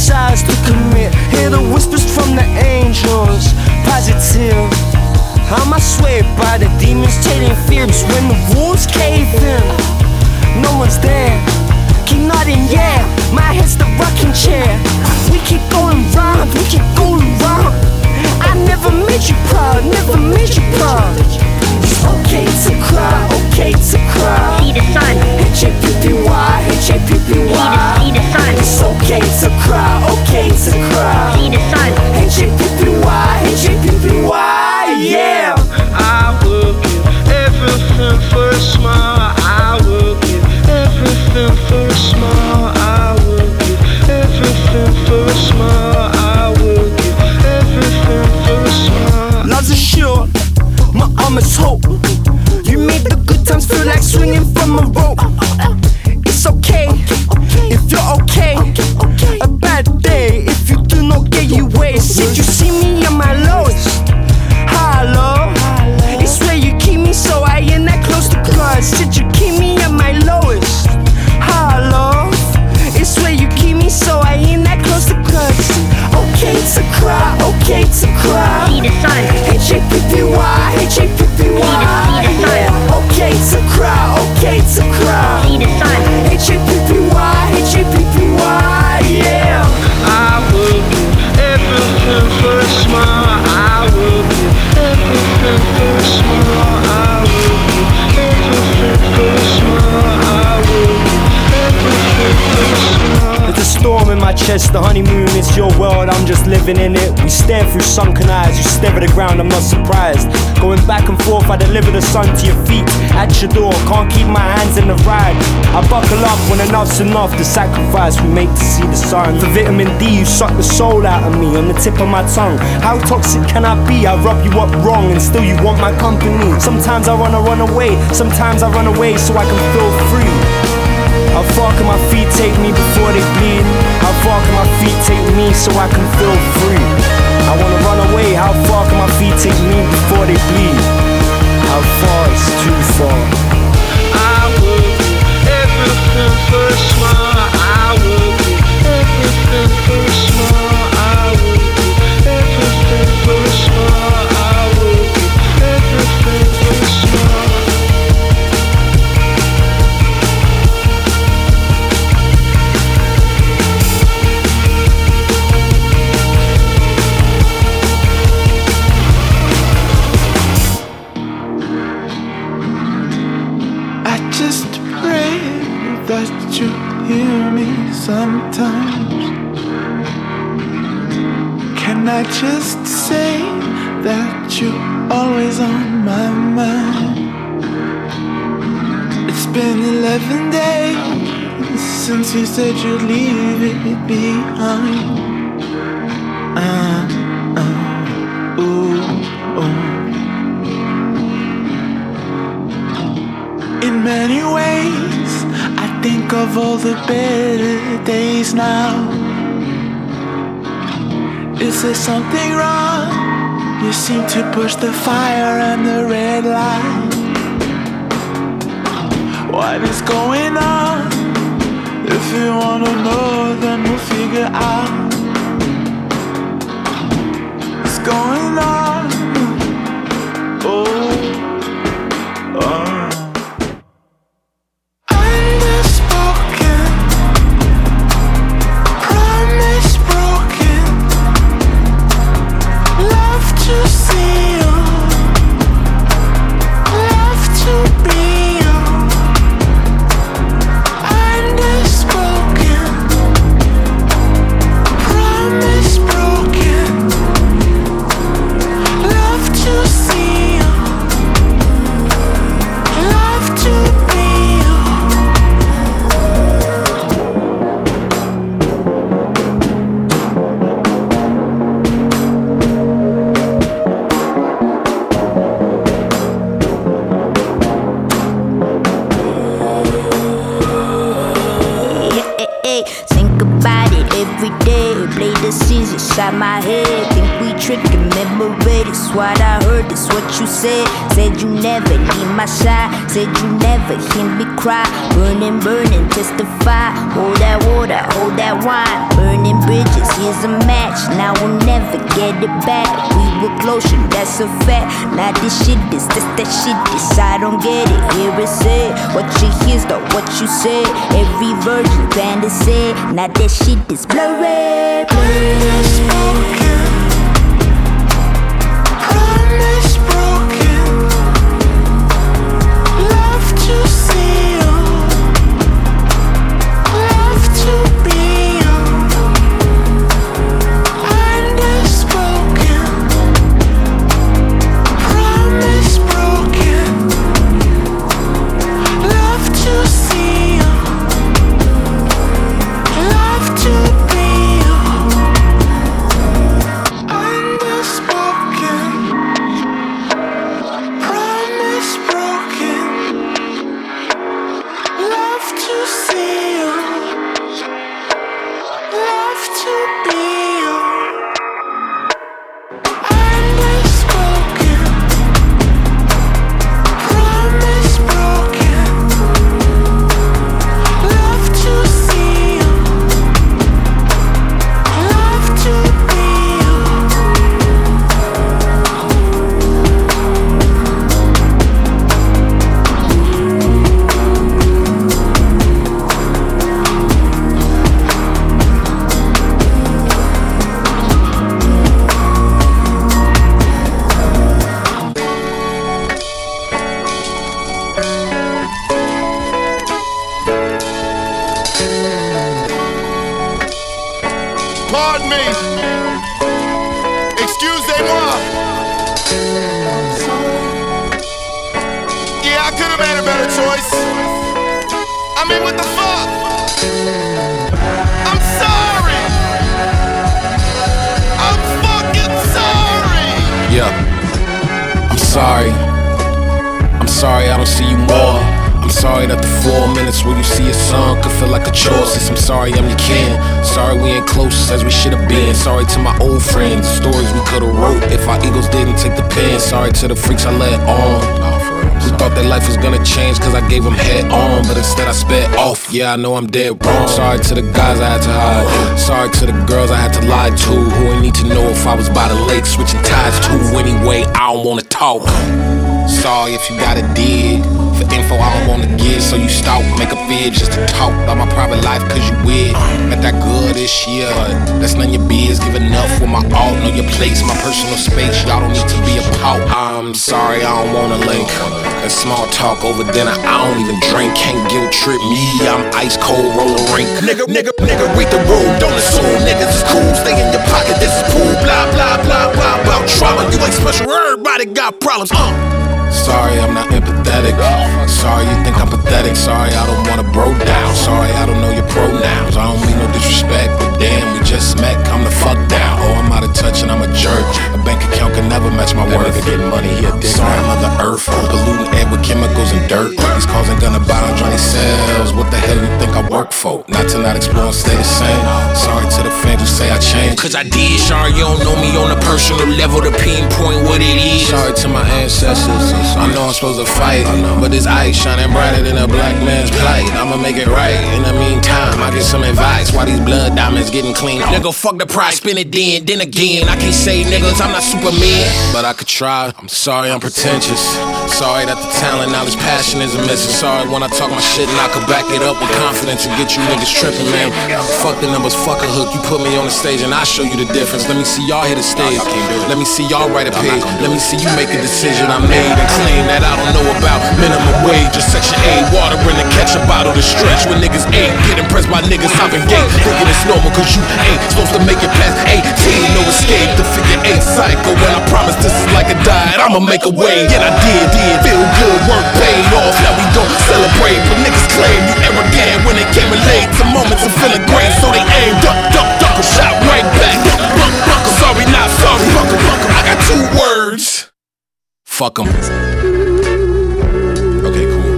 suicides to commit. Hear the whispers from the angels, positive. I'm swayed by the demons taking fears when the walls cave in. No one's there, keep nodding, yeah. My head's the rocking chair. We keep going round, we keep going round. I never made you proud, never made you proud. It's okay to cry, okay to cry. See the sun. H-A-P-P-Y, H-A-P-P-Y. See the sun. It's okay to cry, okay to cry. See the sun. H-A-P-P-Y, H-A-P-P-Y, yeah. I will give everything for a smile. I will give everything for a smile. I will give everything for a smile. I will give everything for a smile. Love's assured, my arm is hope. You make the good times feel like swinging from a rope. It's okay, if you're okay. A bad day if you do not get your way. Said you see me at my lowest. Hello, it's where you keep me so I ain't that close to God. Said you keep me at my lowest. Hello, it's where you keep me so I ain't that close to God. Okay to cry, okay to cry. See the sun. H-A-P-P-Y, H-A-P-P-Y. Yeah. Okay to cry, okay to cry. See the sun. H-A-P-P-Y, H-A-P-P-Y. Yeah. I will give everything for a smile. I will give everything for a smile. I will give everything for a smile. I will give everything for a smile. There's a storm in my chest, the honeymoon is your world, I'm just living in it. We stare through sunken eyes, you stare at the ground, I'm not surprised. Going back and forth, I deliver the sun to your feet. At your door, can't keep my hands in the ride. I buckle up when enough's enough, the sacrifice we make to see the sun. For vitamin D, you suck the soul out of me on the tip of my tongue. How toxic can I be? I rub you up wrong and still you want my company. Sometimes I wanna run away, sometimes I run away so I can feel free. How far can my feet take me before they bleed? How far can my feet take me so I can feel free? I wanna run away, how far can my feet take me before they bleed? How far is too far? I will give everything for a smile. I will give everything for a smile. I will give everything for a smile. I will give everything for a smile. That you hear me sometimes. Can I just say that you're always on my mind? It's been 11 days since you said you'd leave it behind. In many ways I think of all the better days now. Is there something wrong? You seem to push the fire and the red light. What is going on? If you wanna know, then we'll figure out what's going on. Think about it every day, play the scenes inside my head. Think we tripped and memory. It's what I heard, it's what you said. Said you never leave my side. Said you never hear me cry. Burning, burning, testify. Hold that water, hold that wine. Burning bridges, here's a match. Now we'll never get it back. We were closer, that's a fact. Now this shit is, that shit is. I don't get it, here it said. What you hear's not what you said. Every version, band is said. Now that shit is blurry, blurry. Spoken, promise broken. Love to see you, love to be you. Unspoken, promise broken. Love to see you, love to be you. Unspoken, promise broken. Love to see you, love to be you. Unspoken, promise broken. Love to see you, love to be you. Pardon me. Excusez-moi. Yeah, I could have made a better choice. I mean, what the fuck? I'm sorry. I'm fucking sorry. Yeah, I'm sorry. I'm sorry I don't see you more. I'm sorry that the 4 minutes where you see your son could feel like a chore. Since I'm sorry I'm your kin. Sorry we ain't close as we should've been. Sorry to my old friends, the stories we could've wrote if our egos didn't take the pen. Sorry to the freaks I let on, who thought their life was gonna change cause I gave them head on, but instead I sped off. Yeah, I know I'm dead wrong. Sorry to the guys I had to hide. Sorry to the girls I had to lie to, who ain't need to know if I was by the lake switching tides to. Anyway, I don't wanna talk. Sorry if you got a dig for info I don't wanna give, so you stalk, make a vid just to talk about my private life cause you weird. Met that girl this year, but that's none of your biz. Give enough with my alt, know your place, my personal space. Y'all don't need to be a pout. I'm sorry, I don't wanna link. That small talk over dinner, I don't even drink. Can't guilt trip me, I'm ice cold, roller rink. Nigga, read the room, don't assume niggas is cool. Stay in your pocket, this is cool. Blah, blah, blah, blah, about trauma. You ain't special, everybody got problems, Sorry, I'm not empathetic. Sorry, you think I'm pathetic. Sorry, I don't wanna bro down. Sorry, I don't know your pronouns. I don't mean no disrespect, but damn, we just met. Come the fuck down. Oh, I'm out of touch and I'm a jerk. A bank account can never match my worth. Nigga getting money here. Sorry, Mother Earth. Polluting air with chemicals and dirt. These cars ain't gonna buy on Johnny Sales. What the hell you think I work for? Not to not explore and stay the same. Sorry to the fans who say I changed, cause I did. Sorry, you don't know me on a personal level to pinpoint what it is. Sorry to my ancestors. I know I'm supposed to fight, but this ice shining brighter than a black man's plight. I'ma make it right. In the meantime, I get some advice. Why these blood diamonds getting clean? Nigga, fuck the price, spin it then again. I can't say niggas, I'm not Superman, but I could try. I'm sorry I'm pretentious. Sorry that the talent, knowledge, passion isn't missing. Sorry when I talk my shit and I could back it up with confidence and get you niggas tripping, man. Fuck the numbers, fuck a hook. You put me on the stage and I show you the difference. Let me see y'all hit the stage. Let me see y'all write a page. Let me see you make a decision I made and claim that I don't know about minimum wage or Section 8. Water in the ketchup bottle to stretch when niggas ain't get impressed by niggas hopping gate. Thinking it's normal cause you ain't supposed to make it past 18. No escape, the figure 8 cycle. When I promise this is like a diet, I'ma make a way. And I did. Feel good, work paid off. Now we gon' celebrate. But niggas claim you arrogant when they came relate to moments of feeling great. So they aim, duck, shot right back. Sorry, not sorry. I got 2 words. Fuck 'em. Okay, cool.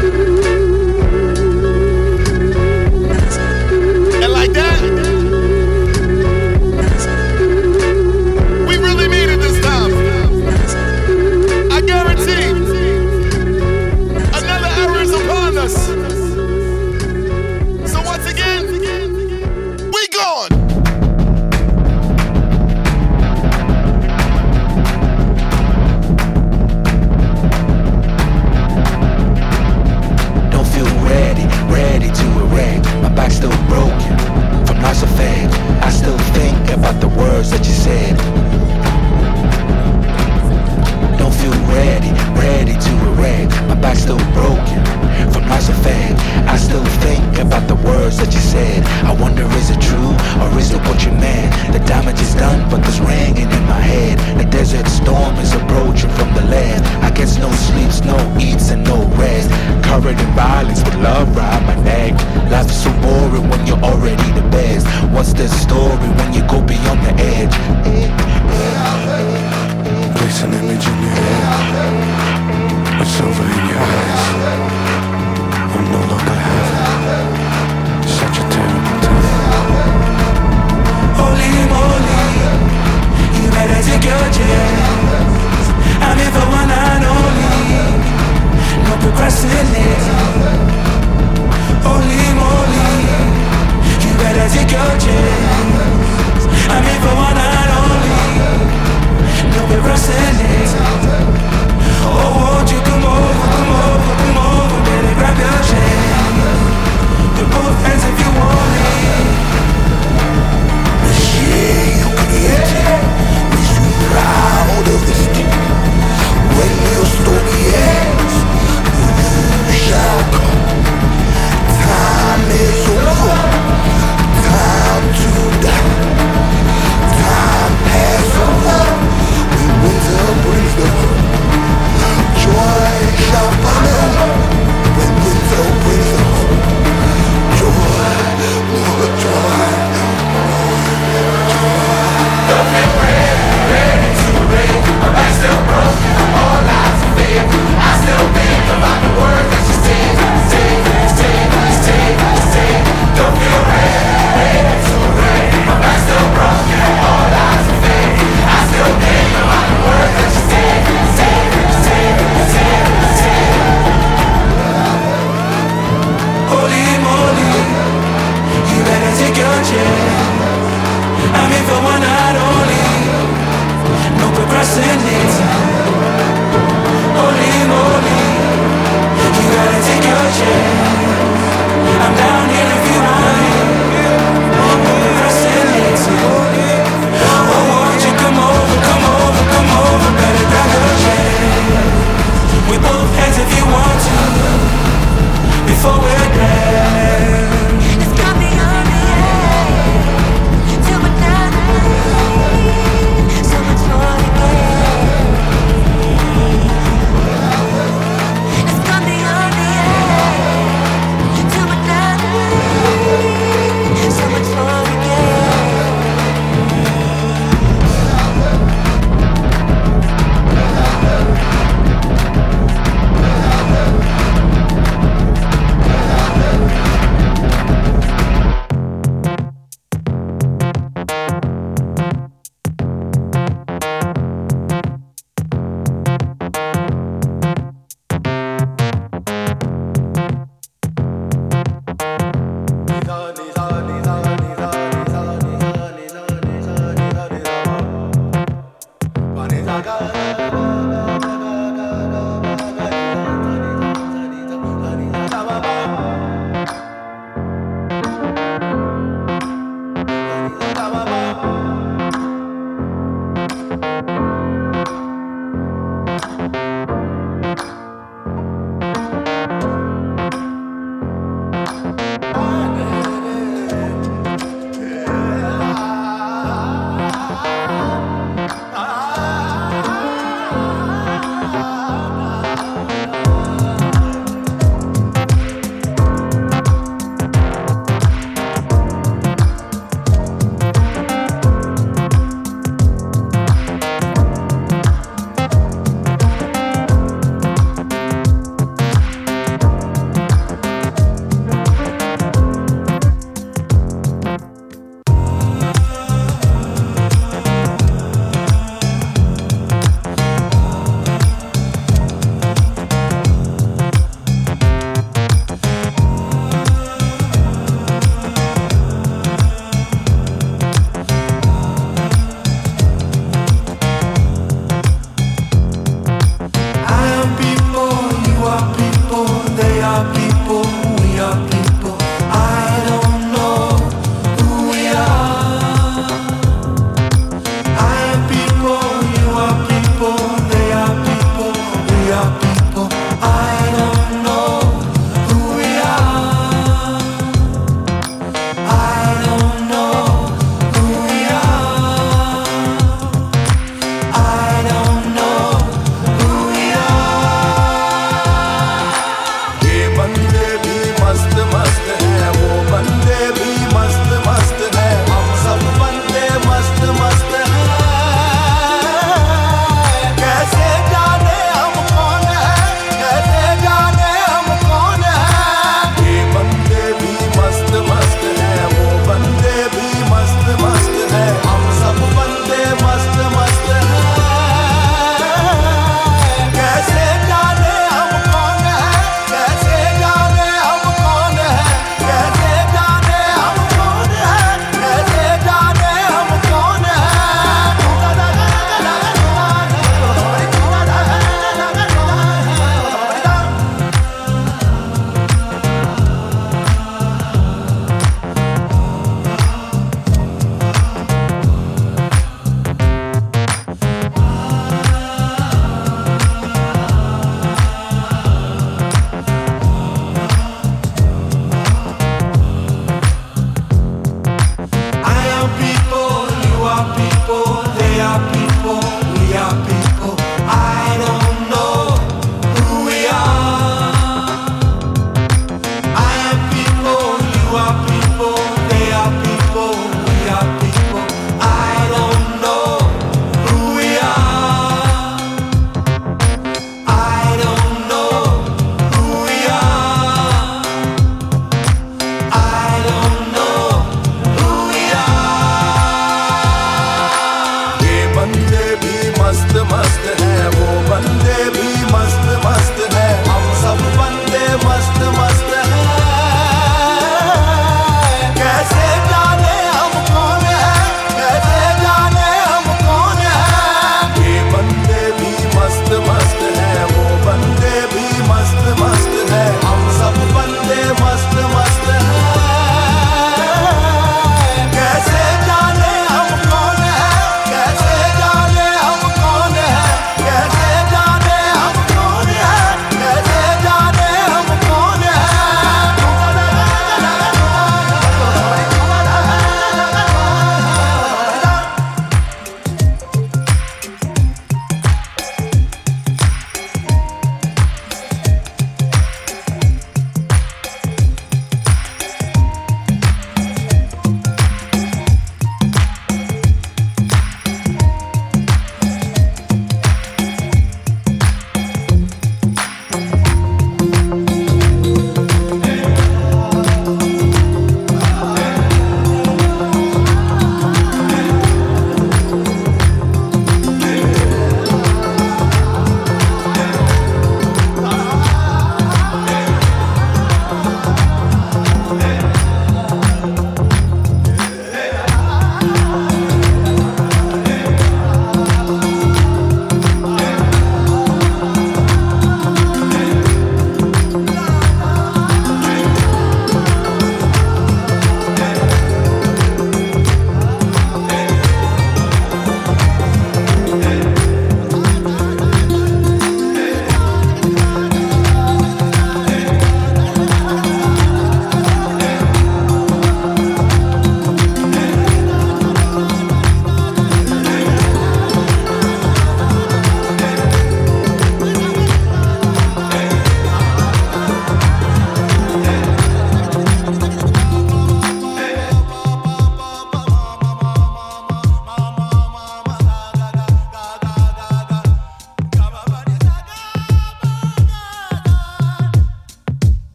And like that, words that you said. I wonder, is it true or is it what you meant? The damage is done, but there's ringing in my head. The desert storm is approaching from the left. I guess no sleeps, no eats, and no rest. Covered in violence with love round my neck. Life is so boring when you're already the best. What's the story when you go beyond the edge? Place an image in your head, a silver in your eyes. I'm no longer having such a terrible time. Holy moly, you better take your chance. I'm here for one and only, no procrastinating. Holy moly, you better take your chance. I'm here for one and only, no procrastinating. Oh, won't you come over, better grab your chance. With both hands if you want me. The shit you created makes you proud of this thing. When your story ends, you shall come. Time is over, time to die. Time has over, when winter brings the home. Joy shall follow, when winter brings the home. Joy, more joy. Don't feel ready to rain. My back's still broken, all lies are fake. I still think about the words that you say. Don't feel ready to rain. My back's still broken, all lies are fake. I still think about the words that you say. Holy moly, you better take your chance. I'm in for one night only, no procrastinating. Holy moly, you gotta take your chance. I'm down here if you want it, no procrastinating. Oh, won't you come over, better grab your chance. With both hands if you want to, before we're grand. It's got me on the edge, till we're done. So much more to get. It's got me on the edge, till we're done. So much more to get.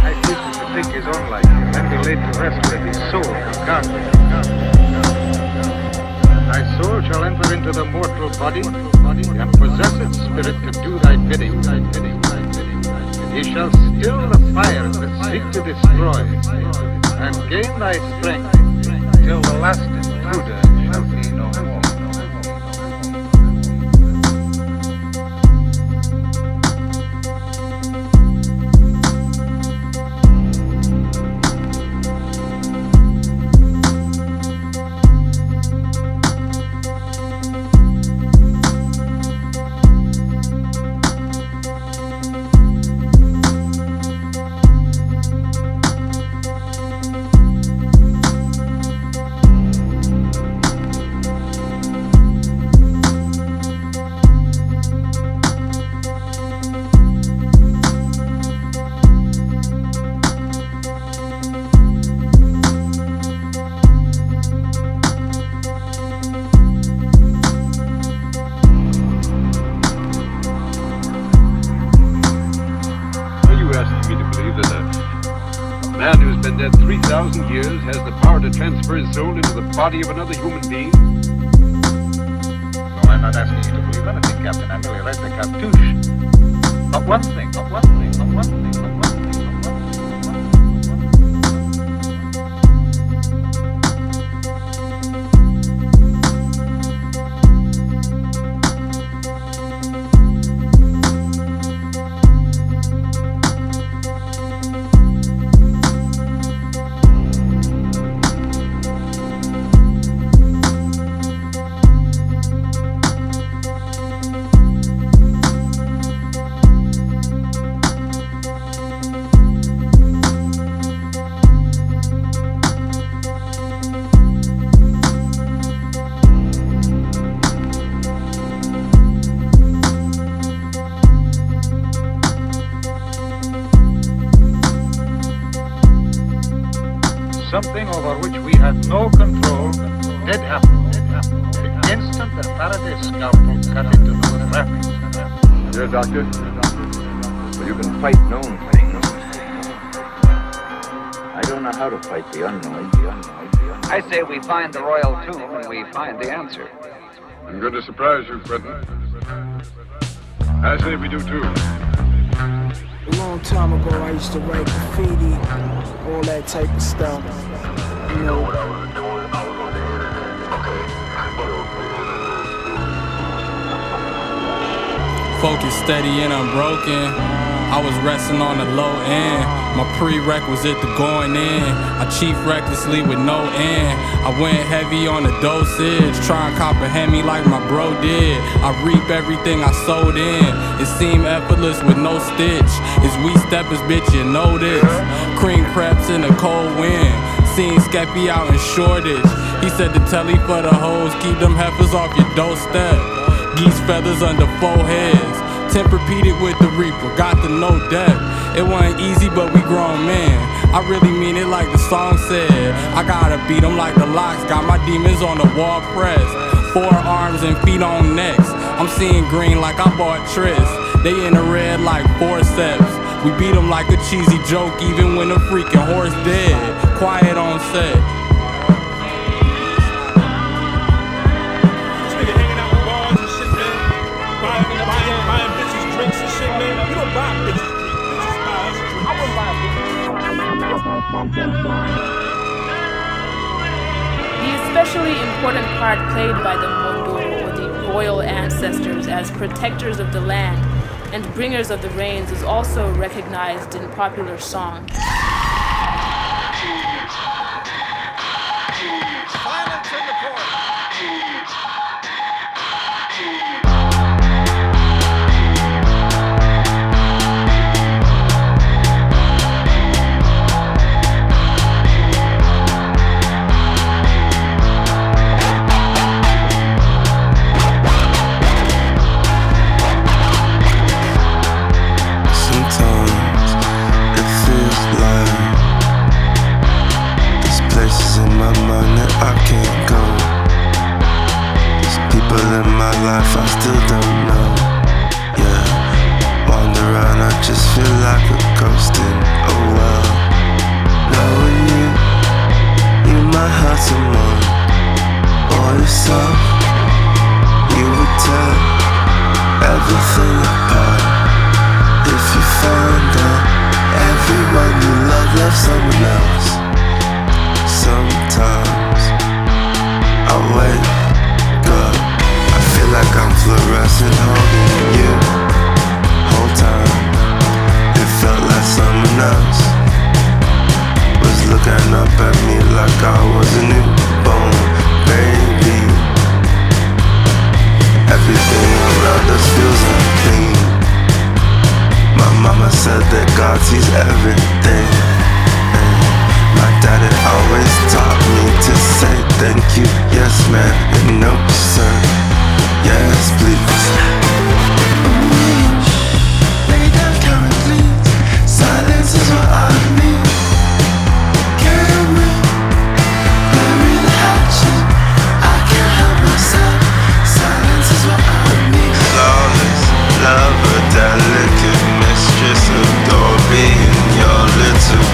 I cease to take his own life, and then be laid to rest where his soul can guard me. Thy soul shall enter into the mortal body, and possess its spirit to do thy bidding. He shall still the fires that seek to destroy, and gain thy strength, till the last intruder shall be no more. That 3,000 years has the power to transfer his soul into the body of another human being? No, I'm not asking you to believe anything, Captain. I merely read the cartouche. But one thing. Something over which we had no control did happen. The instant that Faraday's scalpel cut into those wrappings. You're a doctor? Well, you can fight known things. I don't know how to fight the unknown. I say we find the royal tomb and we find the answer. I'm going to surprise you, Quentin. I say we do too. A long time ago, I used to write graffiti, all that type of stuff. You know. Focus steady and unbroken. I was resting on the low end. My prerequisite to going in. I chief recklessly with no end. I went heavy on the dosage. Try and comprehend me like my bro did. I reap everything I sowed in. It seemed effortless with no stitch. It's we steppers, bitch, you know this. Cream crepes in the cold wind. Seen Skeppy out in Shoreditch. He said to telly for the hoes, keep them heifers off your doorstep. Geese feathers under foreheads. Tempur-Pedic with the Reaper, got the no depth. It wasn't easy, but we grown men. I really mean it like the song said. I gotta beat them like the locks. Got my demons on the wall press. 4 arms and feet on necks. I'm seeing green like I bought Tris. They in the red like forceps. We beat them like a cheesy joke, even when the freaking horse dead. Quiet on set. The especially important part played by the Mondo or the royal ancestors as protectors of the land and bringers of the rains is also recognized in popular song. Sometimes it feels like at me like I was a newborn baby. Everything around us feels unclean. My mama said that God sees everything. My daddy always taught me to say thank you, yes ma'am, and no sir, yes please. Lay down currently, silence is what I need. Carry, bury the hatchet, I can't help myself. Silence is what I need. Flawless, lover, delicate mistress, adore being your little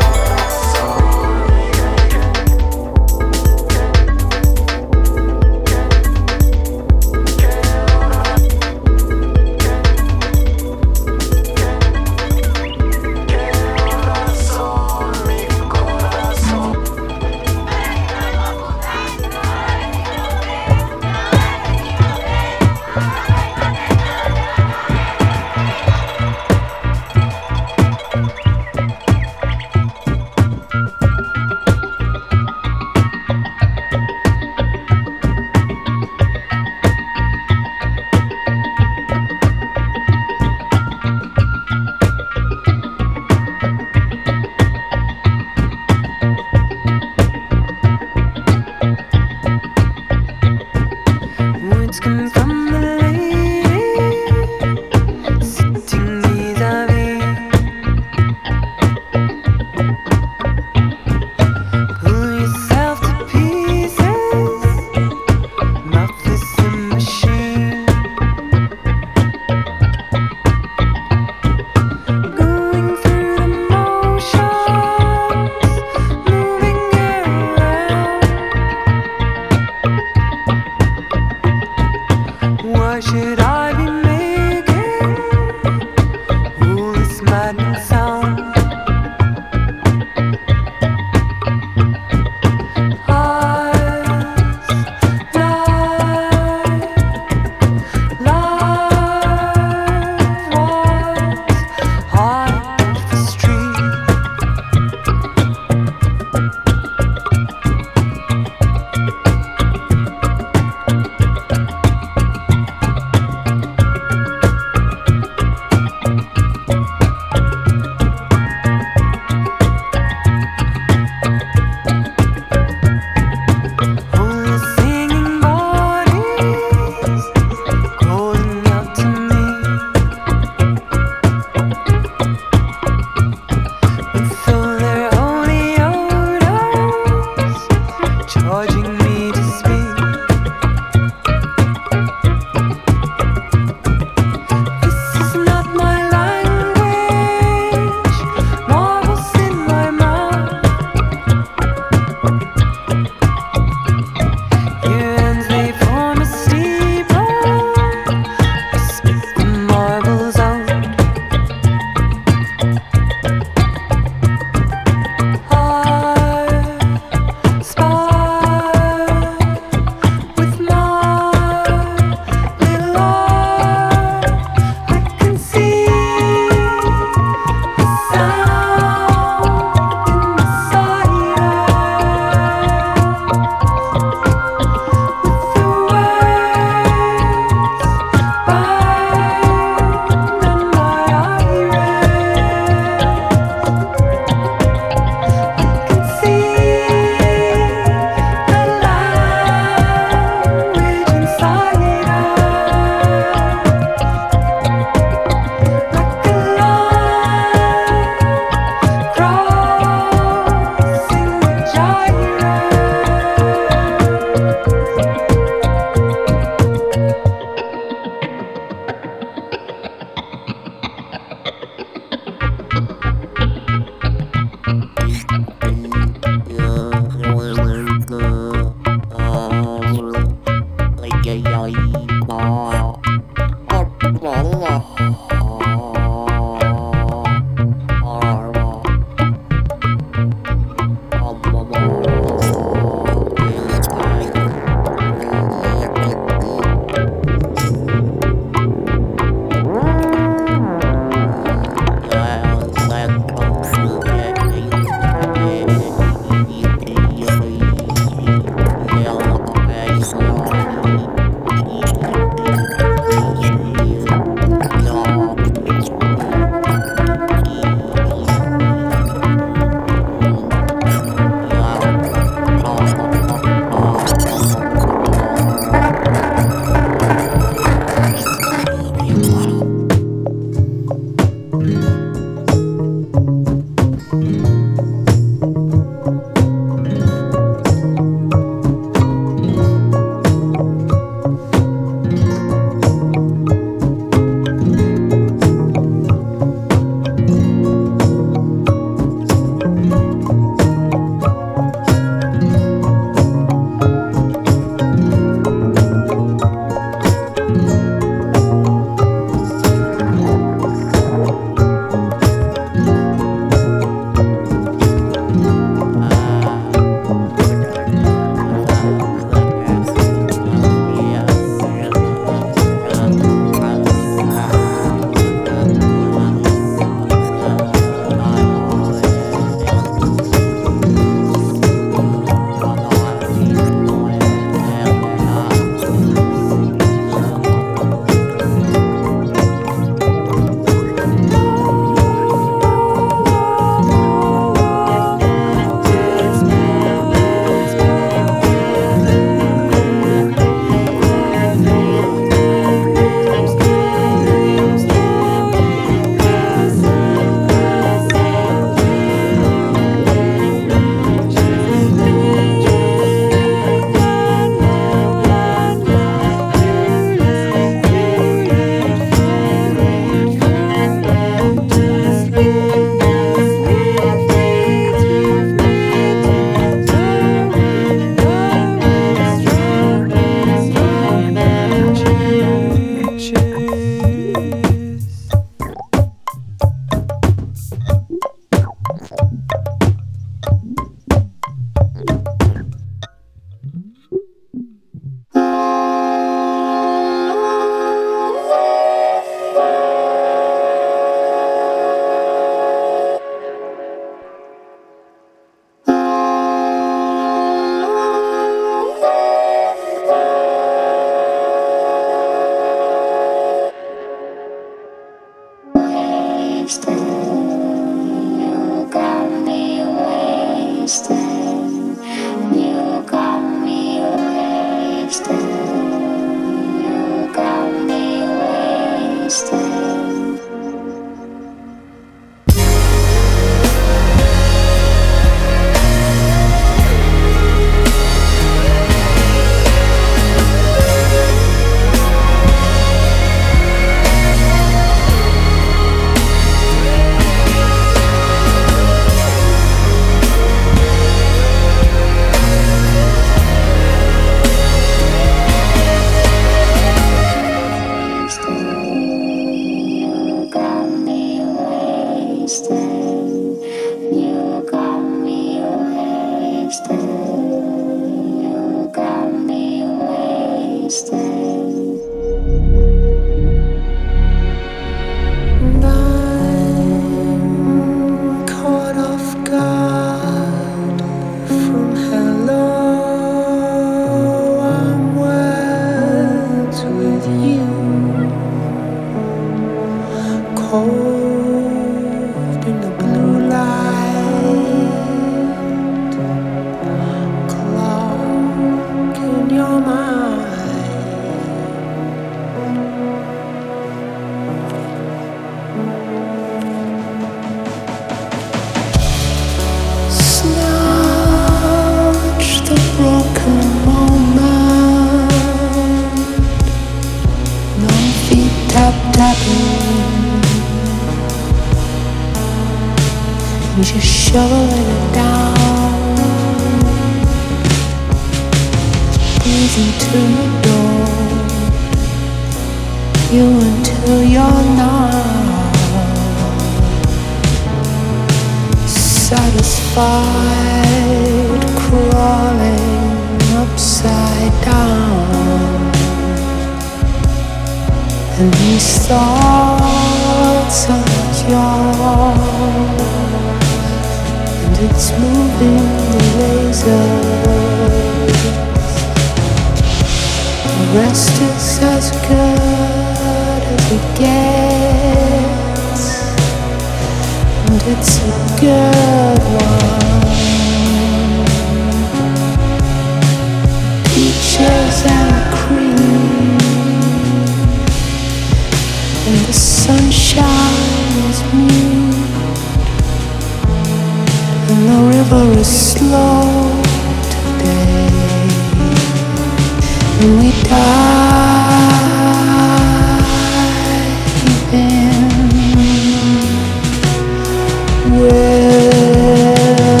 Well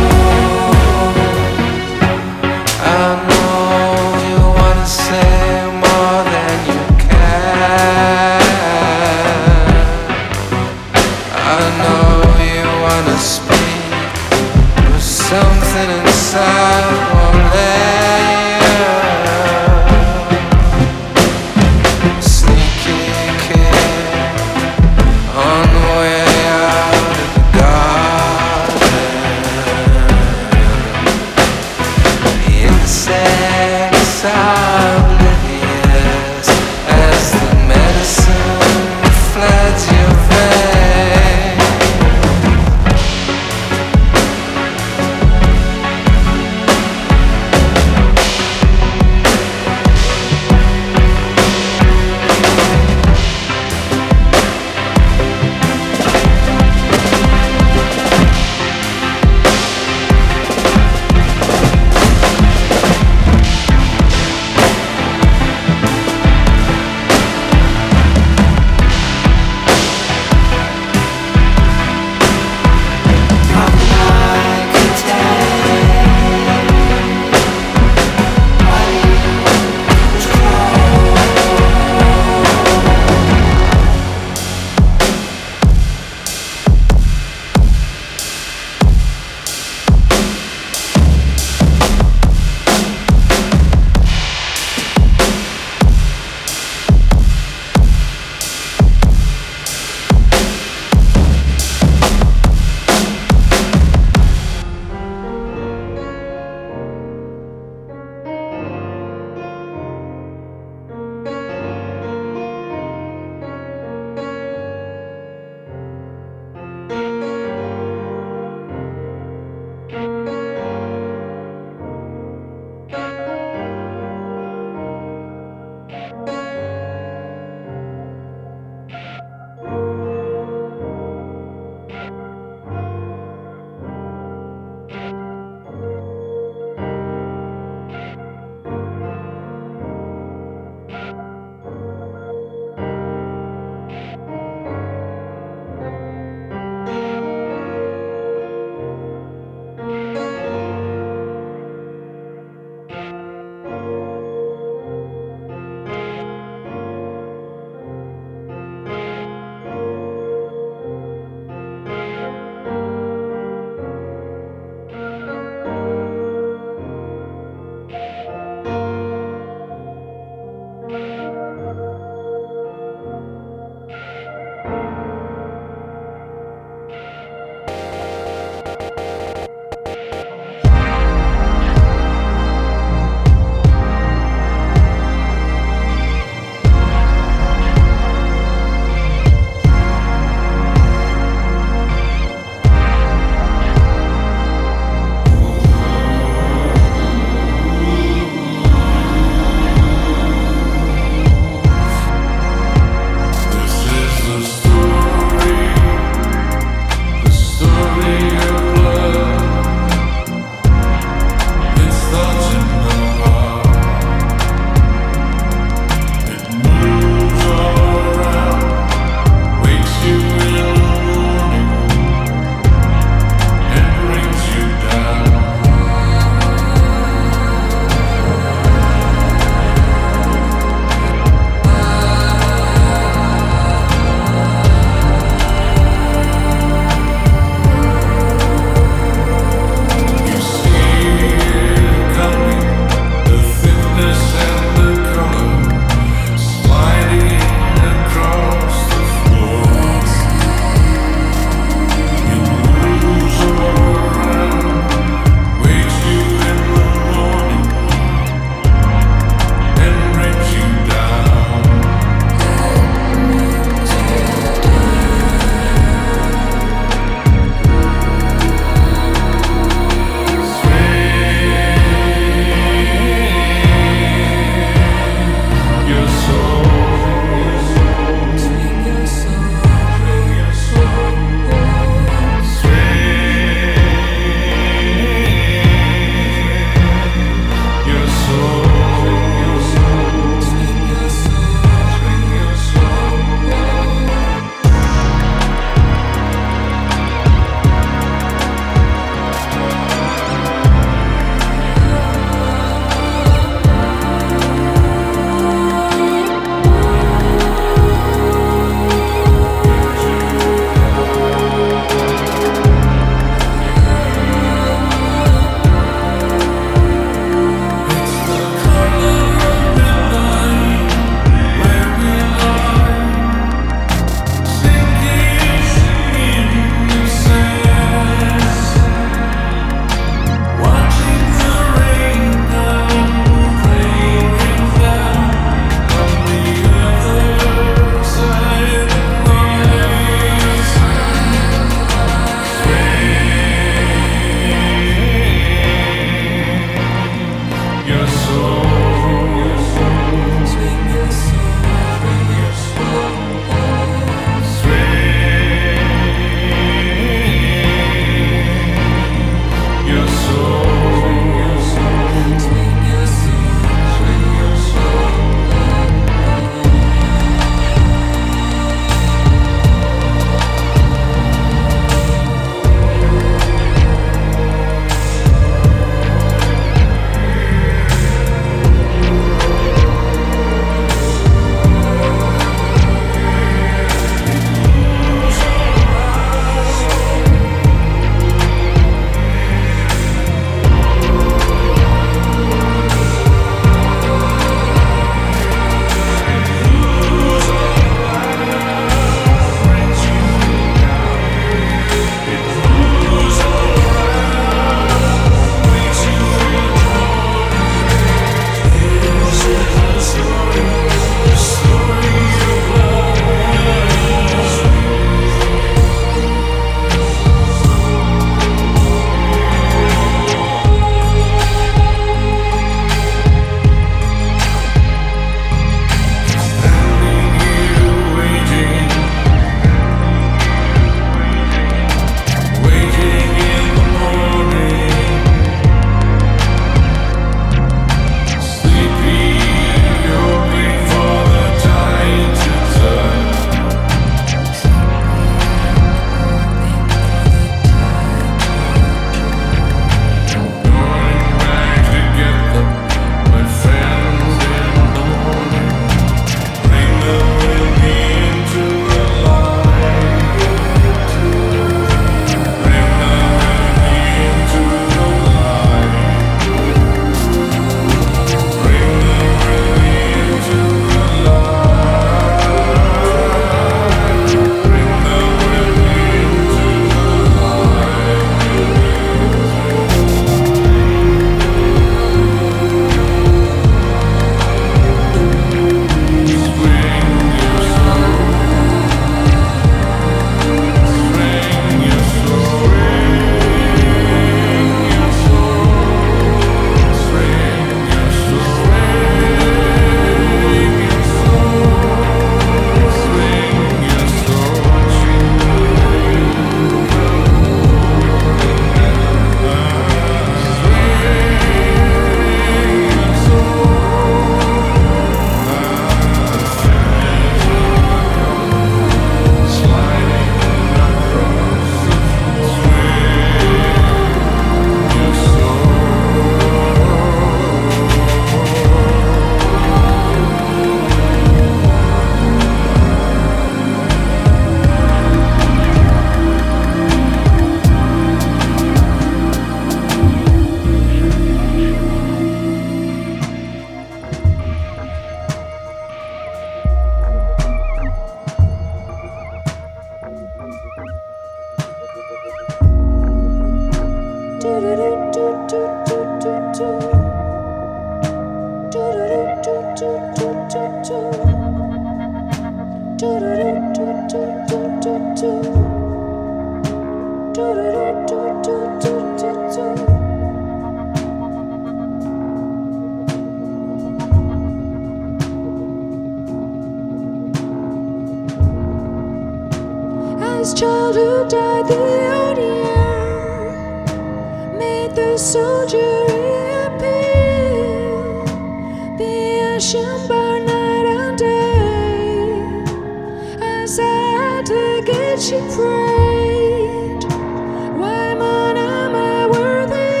As childhood died, the old year made the soldier reappear. The ocean burned night and day. As I had to get you prayed, why man am I worthy?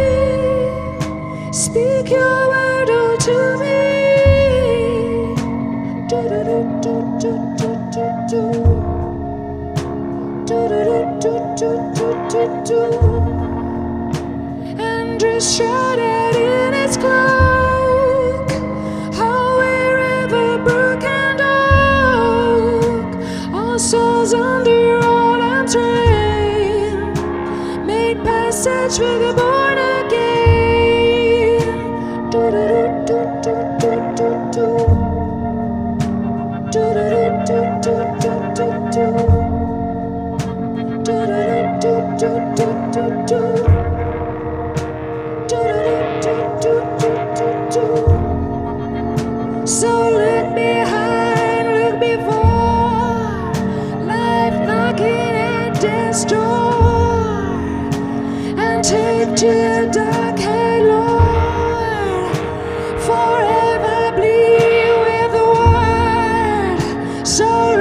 Speak your word all to me. Do do do do do do do do do do do do do do. Andrews shrouded in its cloak, how wherever brook and oak, all souls under all arms reign, made passage for the born again. Do do do do do do do do do do do do do do. Do do do do do do do. Do do do do do do. So look behind, look before, life knocking at death's door, and take to the dark, hey Lord, forever bleed with the word. So